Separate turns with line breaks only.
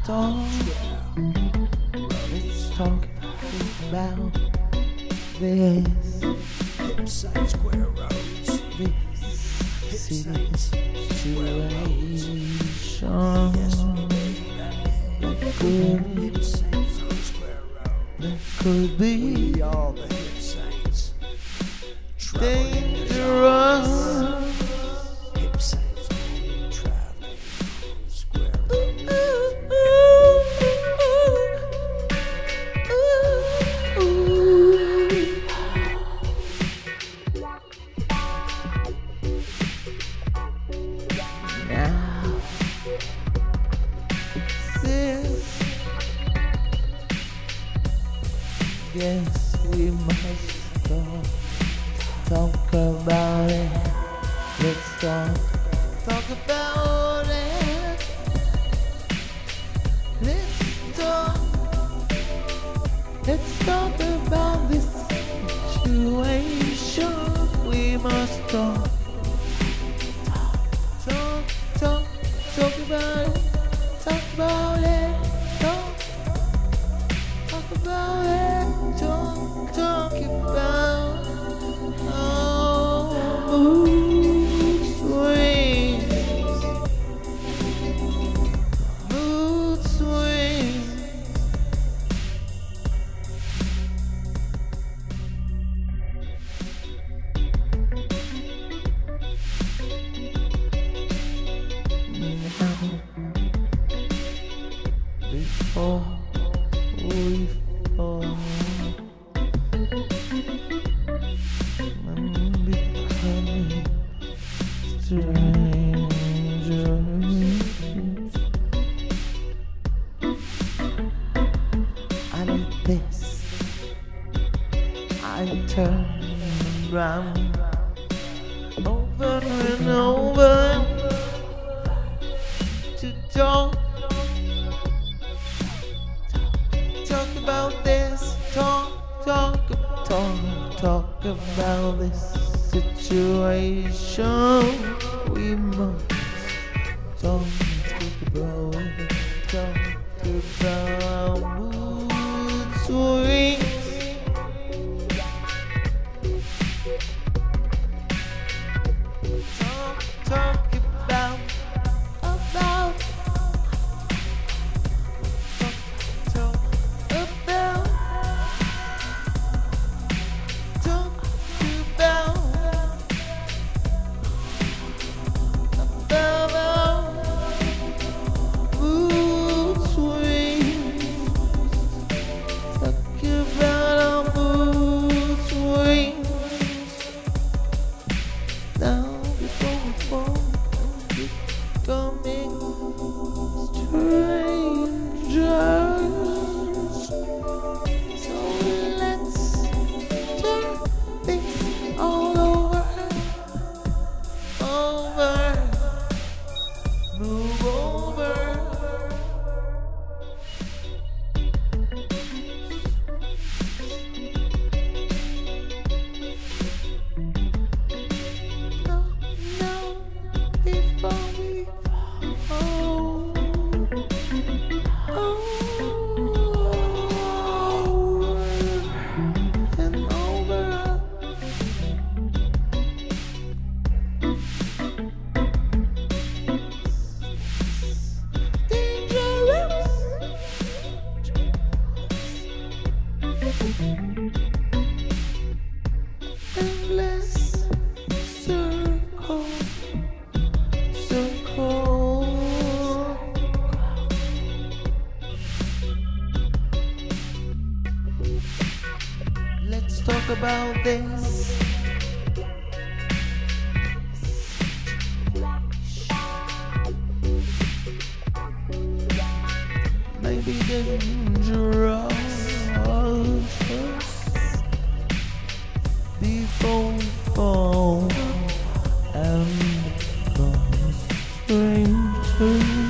talk. Let's talk about this.
Hillside Square Roads.
This city situation. That could be
We all the hip saints.
dangerous.
Hip saints only traveling on Square
Now, this, yes, we must talk about it. Let's talk about it. Let's talk about this situation. We must talk about it. Talk about it. Talk about it. Talk about mood swings. Mood swings. Before we fall and becoming strangers, I need this. I turn round over and over to talk about this, talk about this situation. We must talk about it, talk about mood swings. Talk about endless circle. Let's talk about this. Maybe dangerous before we fall and become strangers.